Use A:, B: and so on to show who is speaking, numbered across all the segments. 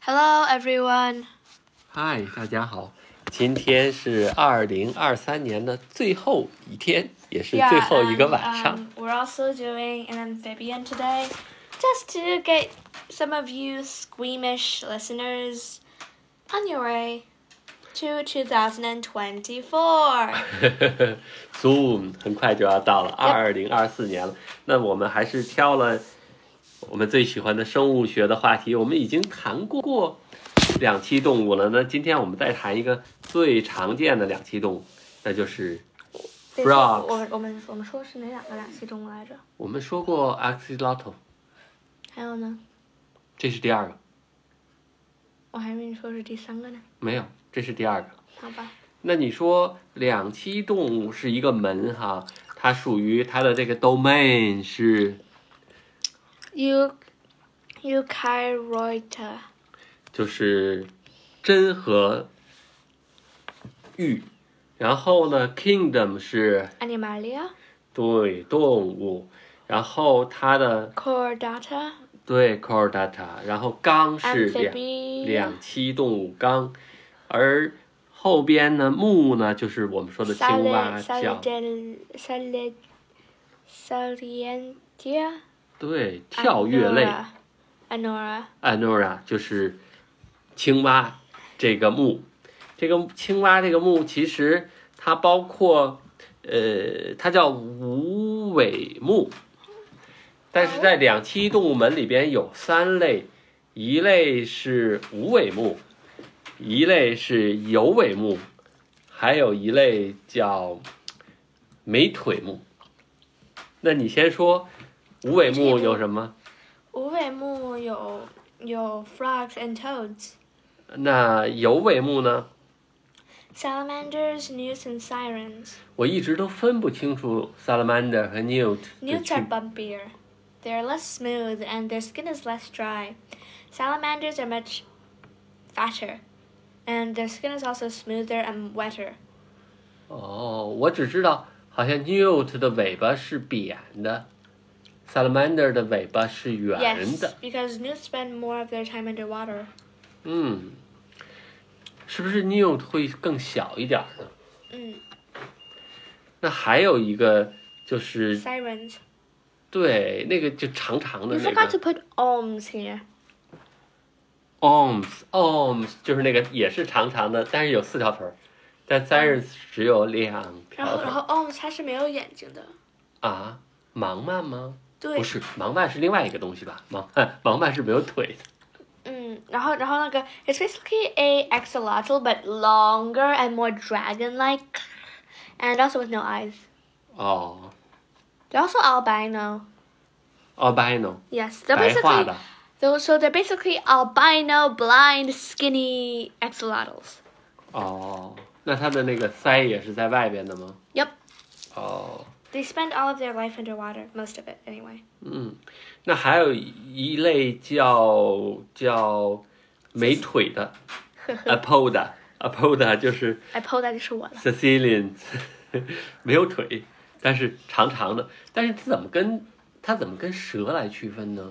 A: Hello, everyone.
B: Hi， 大家好，今天是2023年的最后一天，也是最后一个晚上。
A: We're also doing an amphibian today, just to get some of you squeamish listeners on your way to 2024.
B: Soon， 很快就要到了2024年了。那我们还是挑了我们最喜欢的生物学的话题，我们已经谈过两栖动物了。那今天我们再谈一个最常见的两栖动物，那就是 frogs。
A: 我们说的是哪两个两栖动物来着？
B: 我们说过 axolotl，
A: 还有呢？
B: 这是第二个。
A: 我还以为你说是第三个呢。
B: 没有，这是第二个。
A: 好吧。
B: 那你说两栖动物是一个门哈，它属于它的这个 domain 是
A: Eukaryota，
B: 就是真和玉，然后呢 kingdom 是
A: Animalia，
B: 对动物，然后它的
A: Chordata，
B: 对 chordata， 然后纲是两栖动物纲，而后边呢目呢就是我们说的青蛙叫
A: Salientia，
B: 对跳跃类
A: Anora
B: 就是青蛙这个目，这个青蛙这个目其实它包括它叫无尾目，但是在两栖动物门里边有三类，一类是无尾目，一类是有尾目，还有一类叫没腿目。那你先说无尾目有什么？
A: 无尾目有 frogs and toads。
B: 那有尾目呢？
A: Salamanders, newts, and sirens.
B: 我一直都分不清楚 salamander 和 newt。
A: Newts are bumpier. They are less smooth and their skin is less dry. Salamanders are much fatter, and their skin is also smoother and wetter.
B: 哦，我只知道好像 newt 的尾巴是扁的， salamander 的尾巴是圆的。
A: Yes, because newts spend more of their time underwater.
B: 是不是 newt 会更小一点呢？那还有一个就是
A: Sirens.
B: 对，那个就长长的
A: You
B: 那
A: forgot to
B: 个
A: put arms here.
B: arms 就是那个也是长长的，但是有4条腿，但 sirens 只有2条腿。
A: 然后 arms 它是没有眼睛的。
B: 啊，盲鳗吗？
A: 对。
B: 不是，盲鳗是另外一个东西吧？盲鳗是没有腿的。
A: 然后那个 it's basically a axolotl but longer and more dragon-like, and also with no eyes.
B: 哦。
A: They're also albino.
B: albino.
A: Yes, they're
B: 白化
A: basically
B: 的。
A: so they're basically albino, blind, skinny axolotls.
B: 哦，那它的那个鳃也是在外边的吗？
A: Yep.
B: 哦。
A: They spend all of their life underwater, most of it anyway.
B: 那还有一类叫没腿的，apoda 就是
A: apoda 就是我了。
B: Sicilian 没有腿，但是长长的，但是它怎么跟蛇来区分呢？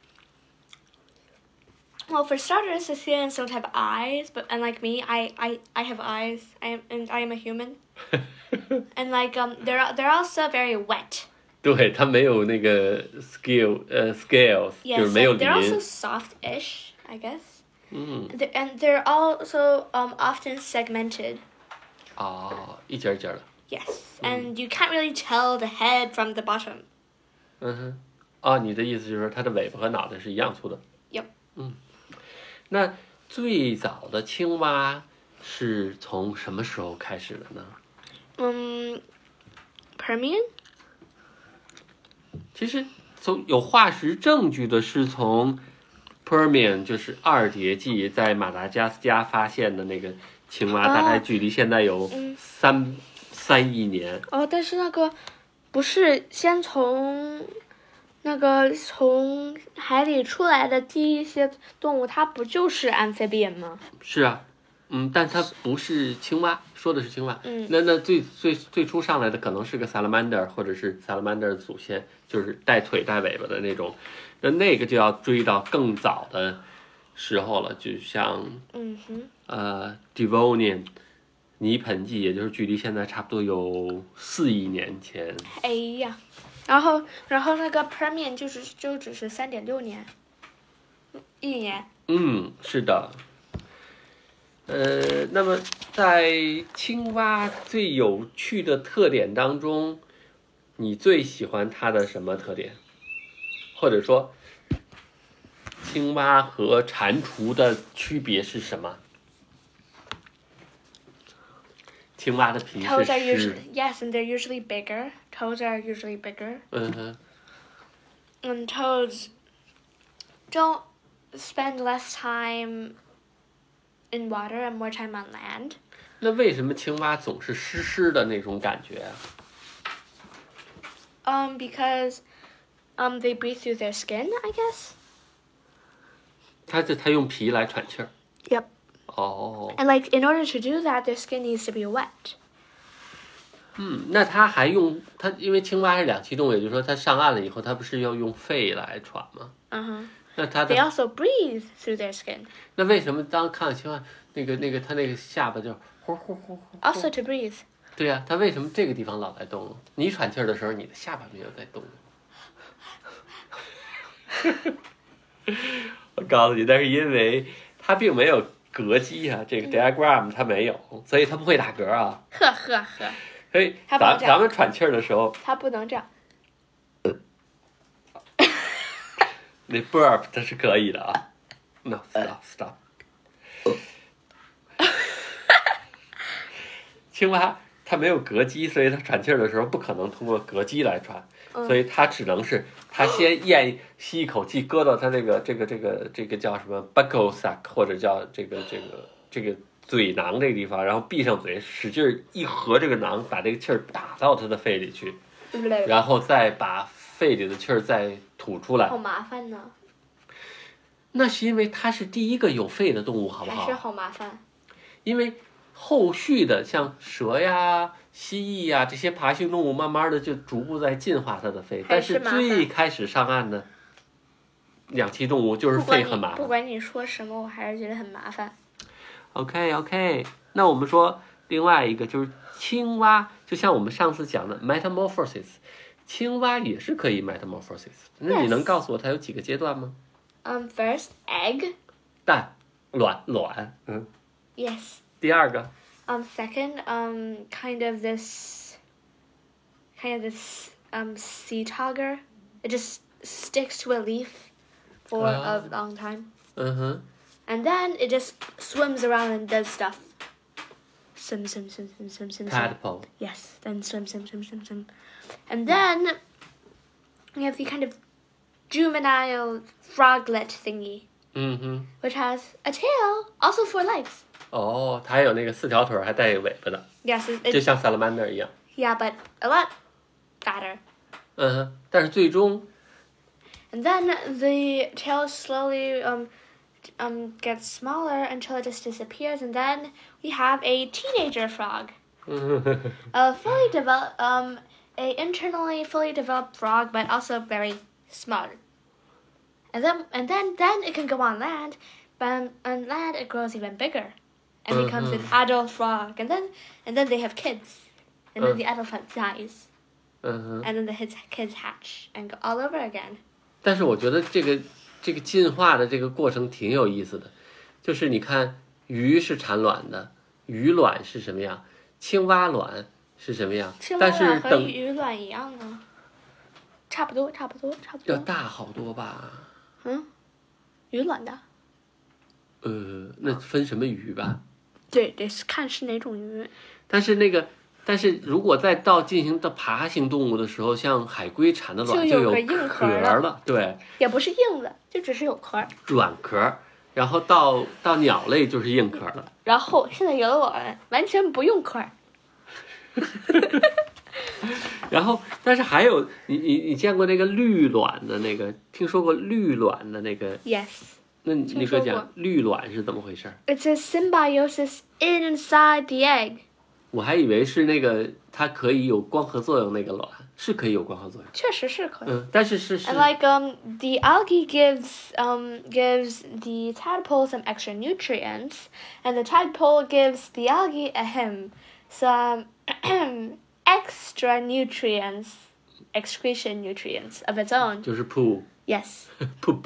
A: Well, for starters, Sicilians don't have eyes, but unlike me, I have eyes. I am a human. And they're also very wet.
B: 对，它没有那个 scales， 就是没有
A: they're also
B: 鳞。
A: soft-ish, I guess. And they're also often segmented.
B: 哦，一节一节的。
A: Yes, and you can't really tell the head from the bottom.
B: 你的意思就是说它的尾巴和脑袋是一样粗的。
A: Yep.
B: 那最早的青蛙是从什么时候开始的呢？
A: Permian?
B: 其实有化石证据的是从 Permian， 就是二叠纪在马达加斯加发现的那个青蛙，大概距离现在有3亿年。
A: 但是那个不是先从海里出来的第一些动物，它不就是 amphibian 吗？
B: 是啊，但它不是青蛙，说的是青蛙。那最初上来的可能是个 salamander， 或者是 salamander 的祖先，就是带腿带尾巴的那种。那个就要追到更早的时候了，就像
A: 嗯哼
B: Devonian 泥盆纪，也就是距离现在差不多有4亿年前。
A: 哎呀，然后那个 Permian 就只是3.6年，1年。
B: 是的。那么在青蛙最有趣的特点当中，你最喜欢它的什么特点？或者说，青蛙和蟾蜍的区别是什么？青蛙的皮
A: Toads
B: 是
A: are
B: 湿。
A: usually yes, and they're usually bigger. Toads are usually bigger. And toads don't spend less time in water and more time on land.
B: 那为什么青蛙总是湿湿的那种感觉啊？
A: Because they breathe through their skin, I guess.
B: 它用皮来喘气儿。
A: Yep.
B: 哦。
A: And like in order to do that, their skin needs to be wet.
B: 那它还用它，因为青蛙是两栖动物，也就是说它上岸了以后，它不是要用肺来喘吗？那它
A: They
B: 的
A: also breathe through their skin.
B: 那为什么当看到青蛙它那个下巴就呼呼呼呼？
A: Also to breathe.
B: 对呀、它为什么这个地方老在动？你喘气儿的时候，你的下巴没有在动。我告诉你，那是因为它并没有膈肌啊，这个 diaphragm 它没有，所以它不会打嗝啊。
A: 呵呵呵，
B: 所以
A: 它不能这样
B: 咱们喘气儿的时候，
A: 它不能这样。
B: 那 burp 它是可以的啊。No stop。青蛙它没有膈肌，所以它喘气儿的时候不可能通过膈肌来喘，所以它只能是它先吸一口气，搁到它这个叫什么 buccal sac 或者叫这个嘴囊这个地方，然后闭上嘴，使劲一合这个囊，把这个气儿打到它的肺里去，然后再把肺里的气儿再吐出来。
A: 好麻烦呢。
B: 那是因为它是第一个有肺的动物，好不好？
A: 还是好麻烦。
B: 因为后续的像蛇呀、蜥蜴呀这些爬行动物，慢慢的就逐步在进化它的肺，但是最开始上岸的两栖动物就是肺很麻烦。
A: 不管你说什么，我还是觉得很麻烦。
B: OK， 那我们说另外一个就是青蛙，就像我们上次讲的 metamorphosis， 青蛙也是可以 metamorphosis。那你能告诉我它有几个阶段吗
A: ？First egg。
B: 蛋、卵。
A: Yes。
B: 第二个。
A: Second, kind of this sea togger. It just sticks to a leaf for a long time. And then it just swims around and does stuff. Swim.
B: Tadpole.
A: Yes, then swim. And then we have the kind of juvenile froglet thingy. Which has a tail, also 4 legs.
B: 哦，它还有那个4条腿，还带尾巴的。
A: Yes,
B: 就像 salamander 一样。
A: Yeah, but a lot fatter.
B: 但是最终。
A: And then the tail slowly gets smaller until it just disappears, and then we have a teenager frog. A fully developed, a internally fully developed frog, but also very smart. And then it can go on land, but on land it grows even bigger, and becomes an adult frog. And then they have kids, and then the adult dies, and then the kids hatch and go all over again.
B: 但是我觉得这个进化的这个过程挺有意思的，就是你看鱼是产卵的，鱼卵是什么样，青蛙卵是什么样，但是
A: 和鱼卵一样呢，差不多。
B: 要大好多吧？
A: 鱼卵的。
B: 那分什么鱼吧？
A: 对，得看是哪种鱼。
B: 但是如果再进行到爬行动物的时候，像海龟产的卵
A: 就
B: 有
A: 硬
B: 壳了，对，
A: 也不是硬的，就只是有壳，
B: 软壳。然后到鸟类就是硬壳了。
A: 然后现在有的卵完全不用壳。
B: 然后，但是还有你见过那个绿卵的那个？听说过绿卵的那个
A: ？Yes。
B: 那你给我讲绿卵是怎么回事？
A: It's a symbiosis inside the egg.
B: 我还以为是那个它可以有光合作用那个卵，是可以有光合作用。
A: 确实是可以。
B: 但是
A: And like the algae gives the tadpole some extra nutrients, and the tadpole gives the algae some extra nutrients, excretion nutrients of its own.
B: 就是 poo
A: Yes.
B: poop。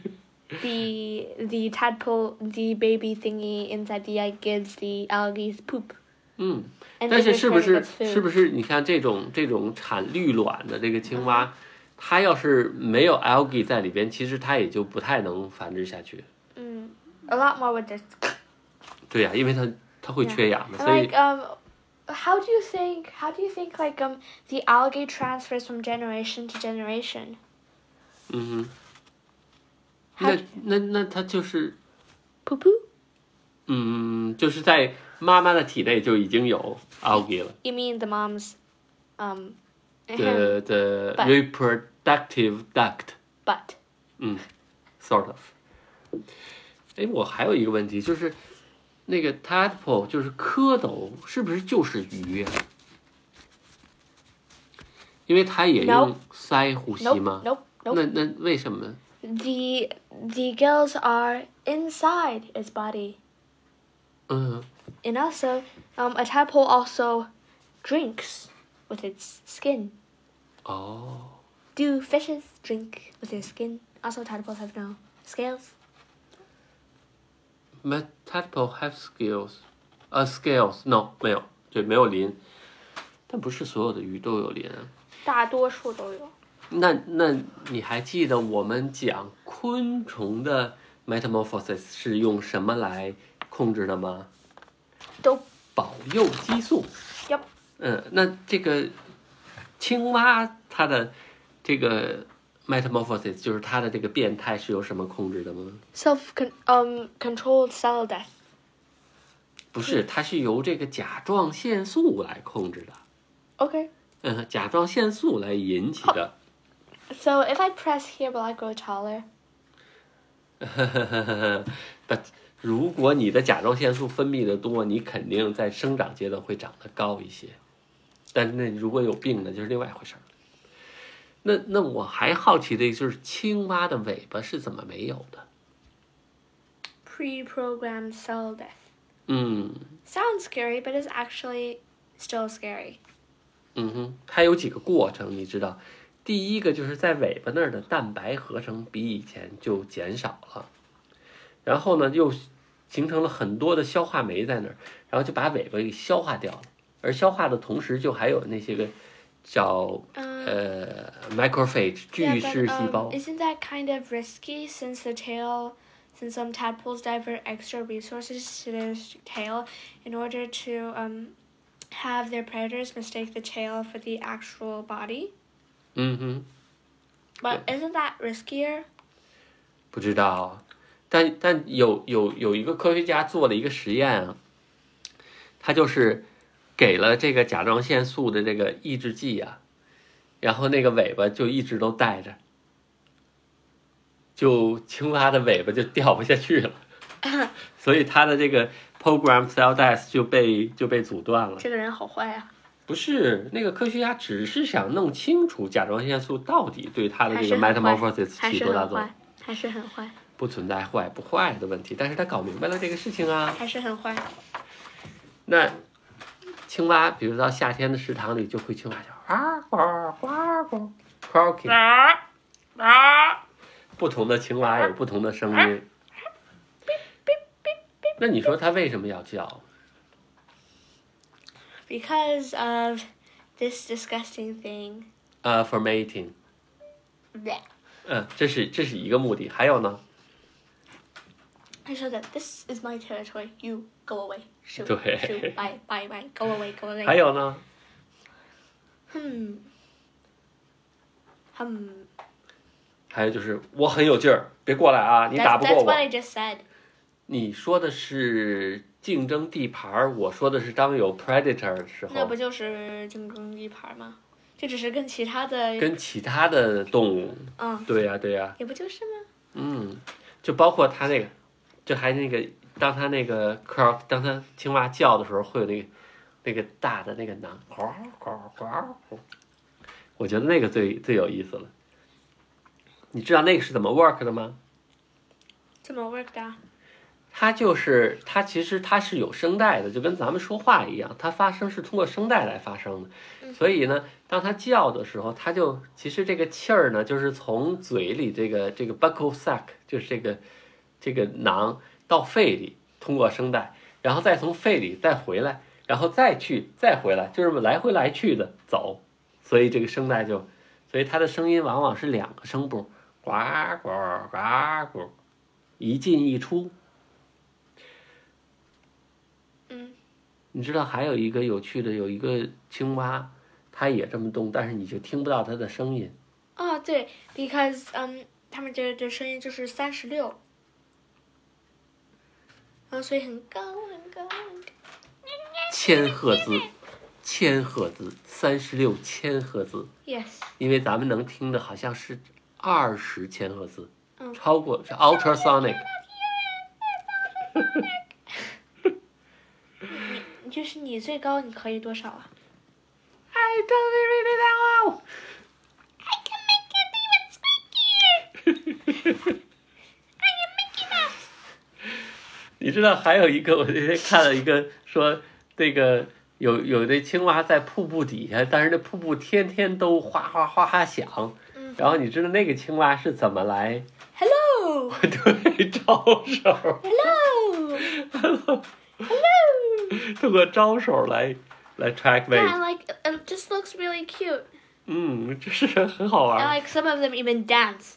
A: The tadpole, the baby thingy inside the egg gives the algae poop.
B: 但是是不是你看这种产绿卵的这个青蛙，它要是没有 algae 在里边，其实它也就不太能繁殖下去。
A: A lot more with this.
B: 对呀，因为它会缺氧的，所以
A: Like how do you think like the algae transfers from generation to generation?
B: 那它就是
A: Poo poo?
B: 就是在妈妈的体内就已经有 algae 了。
A: You mean the mom's
B: the reproductive duct.
A: butt?
B: Sort of. 我还有一个问题，就是那个 tadpole 就是蝌蚪，是不是就是鱼呀？因为它也用鳃呼吸吗？
A: Nope.
B: 那为什么？
A: The gills are inside its body. And also, a tadpole also drinks with its skin. Do fishes drink with their skin? Also, tadpoles have no scales.
B: But tadpole have scales. Scales no 没有，对，没有鳞。但不是所有的鱼都有鳞啊。
A: 大多数都有。
B: 那你还记得我们讲昆虫的 metamorphosis 是用什么来控制的吗？
A: 都
B: 保幼激素。
A: Yep.
B: 那这个青蛙它的这个 metamorphosis 就是它的这个变态是由什么控制的吗？
A: Controlled cell death.
B: 不是，它是由这个甲状腺素来控制的。
A: Okay.
B: 甲状腺素来引起的。
A: So if I press here, will I grow taller?
B: But 如果你的甲状腺素分泌的多，你肯定在生长阶段会长得高一些。但是那如果有病呢，就是另外一回事儿。那我还好奇的就是青蛙的尾巴是怎么没有的？
A: Pre-programmed cell death.
B: Sounds
A: scary, but it's actually still scary.
B: 它有几个过程，你知道？第一个就是在尾巴那儿的蛋白合成比以前就减少了，然后呢又形成了很多的消化酶在那儿，然后就把尾巴给消化掉了。而消化的同时，就还有那些个叫macrophage 巨噬细胞。
A: Isn't that kind of risky since some tadpoles divert extra resources to their tail in order to have their predators mistake the tail for the actual body? But isn't that riskier?
B: 不知道，但有一个科学家做了一个实验啊，他就是给了这个甲状腺素的这个抑制剂啊，然后那个尾巴就一直都带着，就青蛙的尾巴就掉不下去了，所以它的这个 program cell death 就被阻断了。
A: 这个人好坏啊！
B: 不是，那个科学家只是想弄清楚甲状腺素到底对它的这个 metamorphosis 起多大作用。
A: 还是很坏。
B: 不存在坏不坏的问题，但是他搞明白了这个事情啊。
A: 还是很坏。
B: 那青蛙，比如到夏天的食堂里，就会青蛙叫啊呱呱呱 croaking。不同的青蛙有不同的声音。那你说它为什么要叫
A: ？Because of this disgusting thing.
B: For mating. 这是一个目的，还有呢
A: I show that this is my territory. You go away. Shoot.
B: 对
A: Shoot. Bye. Bye. Bye. Go away. Go away.
B: 还有呢还有就是我很有劲儿，别过来啊，你打不过我。
A: That's what I just said.
B: 你说的是竞争地盘，我说的是当有 predator 的时候。
A: 那不就是竞争地盘吗？这只是跟其他的
B: 动物。对呀。
A: 也不就是吗？
B: 就包括它那个，就还那个，当它那个 croak， 当它青蛙叫的时候，会有那个那个大的那个囊，我觉得那个最有意思了。你知道那个是怎么 work 的吗？
A: 怎么 work 的？
B: 它其实它是有声带的，就跟咱们说话一样，它发声是通过声带来发声的。所以呢，当它叫的时候，它就其实这个气儿呢，就是从嘴里这个 buccal sac， 就是这个囊到肺里，通过声带，然后再从肺里再回来，然后再回来，就是来回来去的走。所以这个声带所以它的声音往往是2个声部，呱呱呱呱，一进一出。你知道还有一个有趣的，有一个青蛙，它也这么动，但是你就听不到它的声音。
A: 哦，对 ，because 它们的声音就是36，所以很高很高很高。
B: 1000赫兹，1000赫兹，36千赫兹。
A: Yes。
B: 因为咱们能听的好像是20千赫兹，超过是 ultrasonic。
A: 就是你最高你可以多少啊
B: ？I don't really know.
A: I can make it even squeakier. I can make it up.
B: 你知道还有一个，我那天看了一个说，这个有的青蛙在瀑布底下，但是那瀑布天天都哗哗哗哗响。然后你知道那个青蛙是怎么来
A: ？Hello.
B: 对，招手。
A: Hello.
B: Hello.
A: Hello.
B: 通过招手来 track wave.
A: Yeah, like it just looks really cute.
B: 这是很好玩。
A: And like some of them even dance.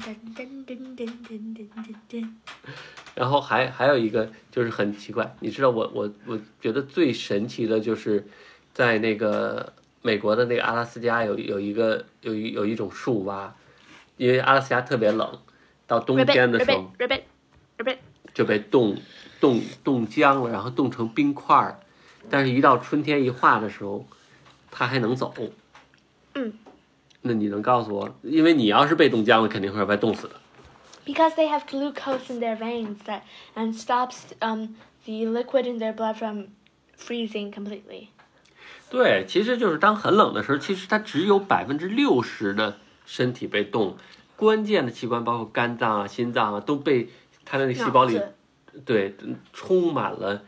B: 然后还有一个就是很奇怪，你知道我觉得最神奇的就是在那个美国的那个阿拉斯加有一种树蛙，因为阿拉斯加特别冷，到冬天的时候就被冻僵了，然后冻成冰块，但是一到春天一化的时候，它还能走。那你能告诉我，因为你要是被冻僵了，肯定会被冻死的。
A: Because they have glucose in their veins and stops the liquid in their blood from freezing completely.
B: 对，其实就是当很冷的时候，其实它只有60%的身体被冻，关键的器官包括肝脏啊、心脏啊都被它的那细胞里，对，充满了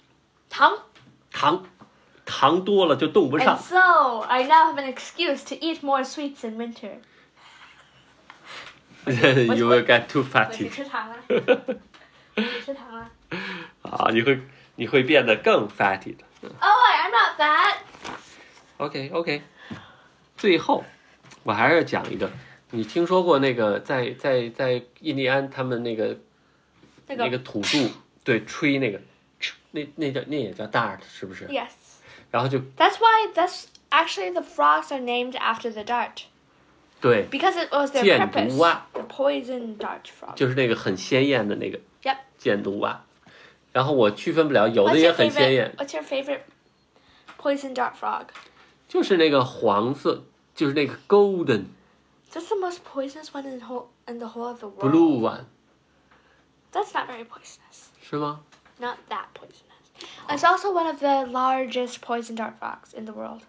B: 糖多了就冻不上。
A: And so I now have an excuse to eat more sweets in winter.
B: You will get too fatty.
A: 你吃糖了？你吃糖了？
B: 啊，你会变得更 fatty 的。
A: Oh, I'm not fat.
B: OK， 最后我还是要讲一个，你听说过那个在印第安他们那个土著对吹那个，那也叫 dart 是不是？
A: Yes.
B: 然后就
A: That's actually the frogs are named after the dart.
B: 对
A: Because it was their
B: 箭
A: purpose.
B: 毒蛙
A: The poison dart frog.
B: 就是那个很鲜艳的那个
A: Yep.
B: 箭毒蛙，然后我区分不了，有的也很鲜艳。
A: What's your favorite poison dart frog?
B: 就是那个黄色，就是那个 golden
A: That's the most poisonous one in the whole of the world.
B: blue one，
A: That's not very poisonous.
B: 是吗？
A: Not that poisonous. It's also one of the largest poison dart frogs in the world.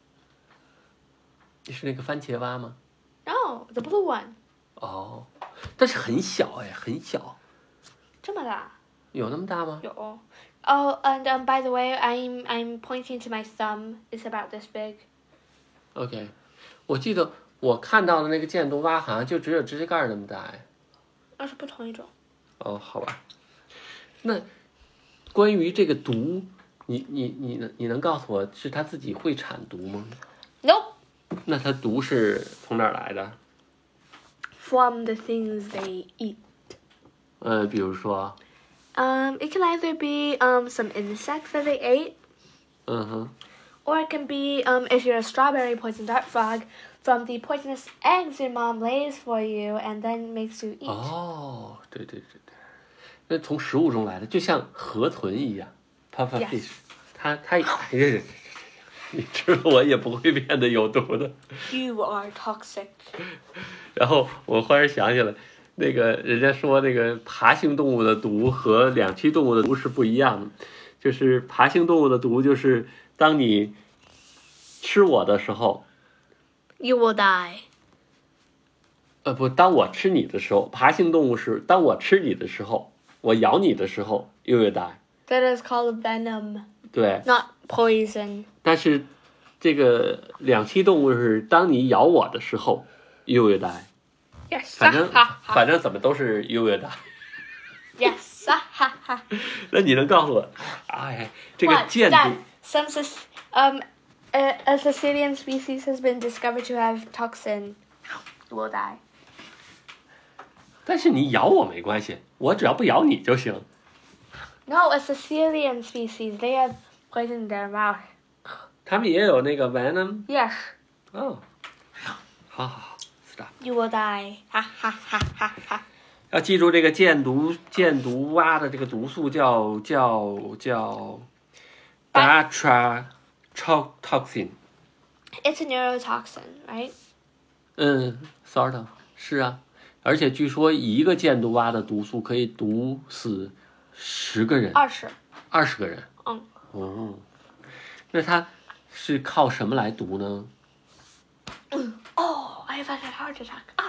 B: 是那个番茄蛙吗？
A: No, the blue one.
B: 哦，但是很小哎，很小。
A: 这么大？
B: 有那么大吗？
A: 有。Oh, and by the way, I'm pointing to my thumb. It's about this big.
B: OK， 我记得我看到的那个箭毒蛙好像就只有指甲盖那么大哎。
A: 那是不同一种。
B: 哦，好吧。那关于这个毒，你能告诉我是它自己会产毒吗？
A: Nope.
B: 那它毒是从哪儿来的？
A: From the things they eat.
B: 比如说。
A: It can either be some insects that they ate.
B: 嗯哼。
A: Or it can be, if you're a strawberry poison dart frog, from the poisonous eggs your mom lays for you and then makes you eat.
B: 哦，对，那从食物中来的，就像河豚一样 ，puffer fish， 它你吃了我也不会变得有毒的。
A: You are toxic.
B: 然后我忽然想起来，那个人家说那个爬行动物的毒和两栖动物的毒是不一样的，就是爬行动物的毒就是当你吃我的时候，
A: You will die.
B: 不，当我吃你的时候，爬行动物是当我吃你的时候，我咬你的时候 you will die.
A: That is called venom,
B: 对，
A: not poison.
B: 但是这个两栖动物是当你咬我的时候 you will die.
A: Yes.
B: 反正怎么都是 you will die.
A: Yes.
B: 那你能告诉我，哎，这个
A: What?
B: 箭毒
A: That some a Sicilian species has been discovered to have toxin. You will die.
B: 但是你咬我没关系，我只要不咬你就行。
A: No, a Sicilian species. They have poison in their mouth.
B: 他们也有那个 venom。
A: Yes.
B: 哦，好 ，stop。
A: You will die. Ha.
B: 要记住这个箭毒蛙的这个毒素叫 batrachotoxin。
A: It's a neurotoxin, right?
B: sort of 是啊，而且据说一个箭毒蛙的毒素可以毒死10个人，20个人。哦，那它是靠什么来毒呢？
A: Oh, I have had a heart attack.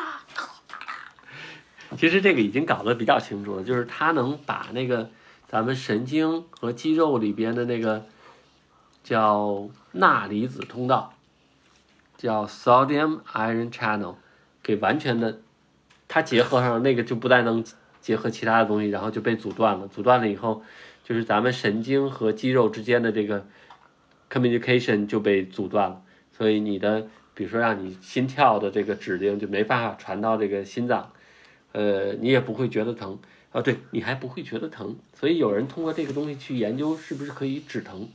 B: 其实这个已经搞得比较清楚了，就是它能把那个咱们神经和肌肉里边的那个叫钠离子通道，叫 sodium ion channel， 给完全的，它结合上那个就不但能结合其他的东西，然后就被阻断了。阻断了以后，就是咱们神经和肌肉之间的这个 communication 就被阻断了，所以你的比如说让你心跳的这个指令就没办法传到这个心脏。你也不会觉得疼啊，对，你还不会觉得疼，所以有人通过这个东西去研究是不是可以止疼。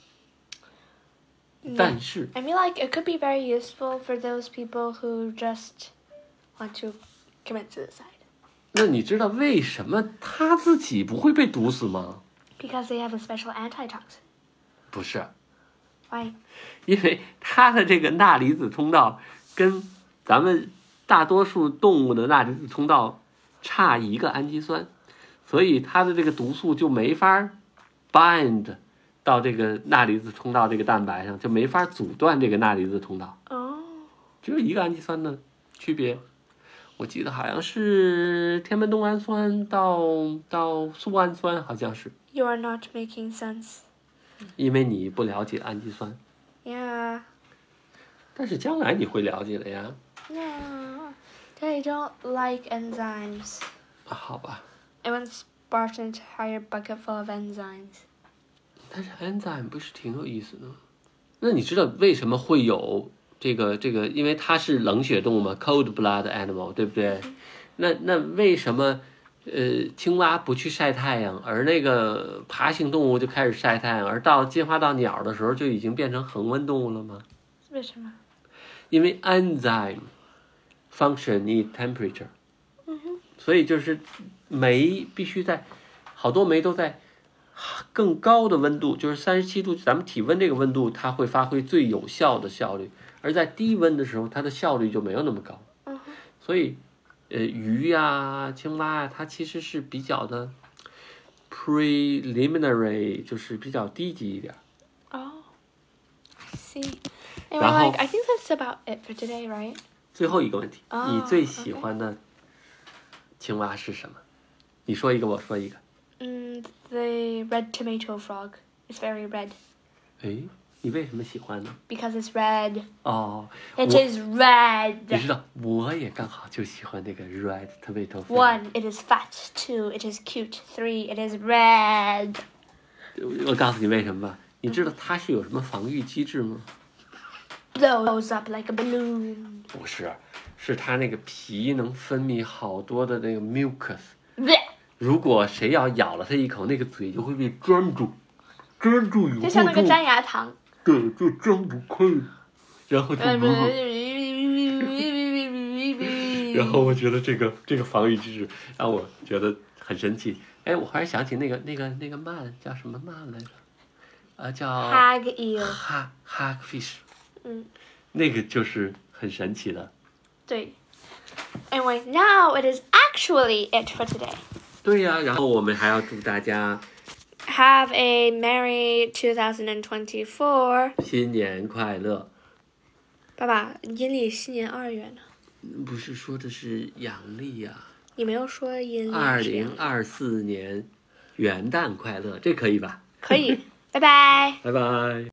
B: 但是
A: I mean, like, it could be very useful for those people who just want to commit suicide.
B: 那你知道为什么他自己不会被毒死吗？
A: Because they have a special antitoxin.
B: 不是，
A: Why?
B: 因为它的这个钠离子通道跟咱们大多数动物的钠离子通道差一个氨基酸，所以它的这个毒素就没法 bind 到这个钠离子通道这个蛋白上，就没法阻断这个钠离子通道。
A: Oh.
B: 只有一个氨基酸的区别，我记得好像是天门冬氨酸到苏氨酸，好像是。
A: You are not making sense.
B: 因为你不了解氨基酸，
A: Yeah.
B: 但是将来你会了解的呀。
A: No. They don't like enzymes.
B: 好吧，
A: I once bought an entire bucket full of enzymes.
B: 但是 enzyme 不是挺有意思的吗？那你知道为什么会有这个？因为它是冷血动物嘛 ，cold blood animal， 对不对？那为什么青蛙不去晒太阳，而那个爬行动物就开始晒太阳，而进化到鸟的时候就已经变成恒温动物了吗？
A: 为什么？
B: 因为 enzyme function in temperature， 所以就是酶必须在好多酶都在更高的温度，就是37度，咱们体温这个温度，它会发挥最有效的效率，而在低温的时候，它的效率就没有那么高。所以，鱼呀、青蛙呀，它其实是比较的 preliminary， 就是比较低级一点。
A: Oh, I see. Anyway,
B: 然后
A: like, I think that's about it for today, right?
B: 最后一个问题，
A: 哦
B: 你最喜欢的青蛙是什么？你说一个，我说一个。
A: The red tomato frog. It's very red.
B: 哎，你为什么喜欢呢？
A: Because it's red.
B: 哦，
A: It is
B: 你
A: red.
B: 知道，我也刚好就喜欢那个 red tomato。
A: 1, it is fat. 2, it is cute. 3, it is red.
B: 我告诉你为什么吧，你知道它是有什么防御机制吗？
A: Blows up like a balloon.
B: 不是，是它那个皮能分泌好多的那个 mucus。
A: Blech.
B: 如果谁要咬了它一口，那个嘴就会被粘住，粘住以后
A: 就像那个粘牙糖。
B: 对，就张不开，然后就然后我觉得这个防御机制让我觉得很神奇。哎，我忽然想起那个鳗叫什么鳗来着？叫
A: Hag eel.
B: hagfish。
A: 那
B: 个就是很神奇的。
A: 对。Anyway, now it is actually it for today.
B: 对呀，然后我们还要祝大家
A: Have a merry 2024.
B: 新年快乐。
A: 爸爸，阴历新年2月呢？
B: 不是说的是阳历呀？
A: 你没有说阴历。
B: 2024年元旦快乐，这可以吧？
A: 可以，拜拜。
B: 拜拜。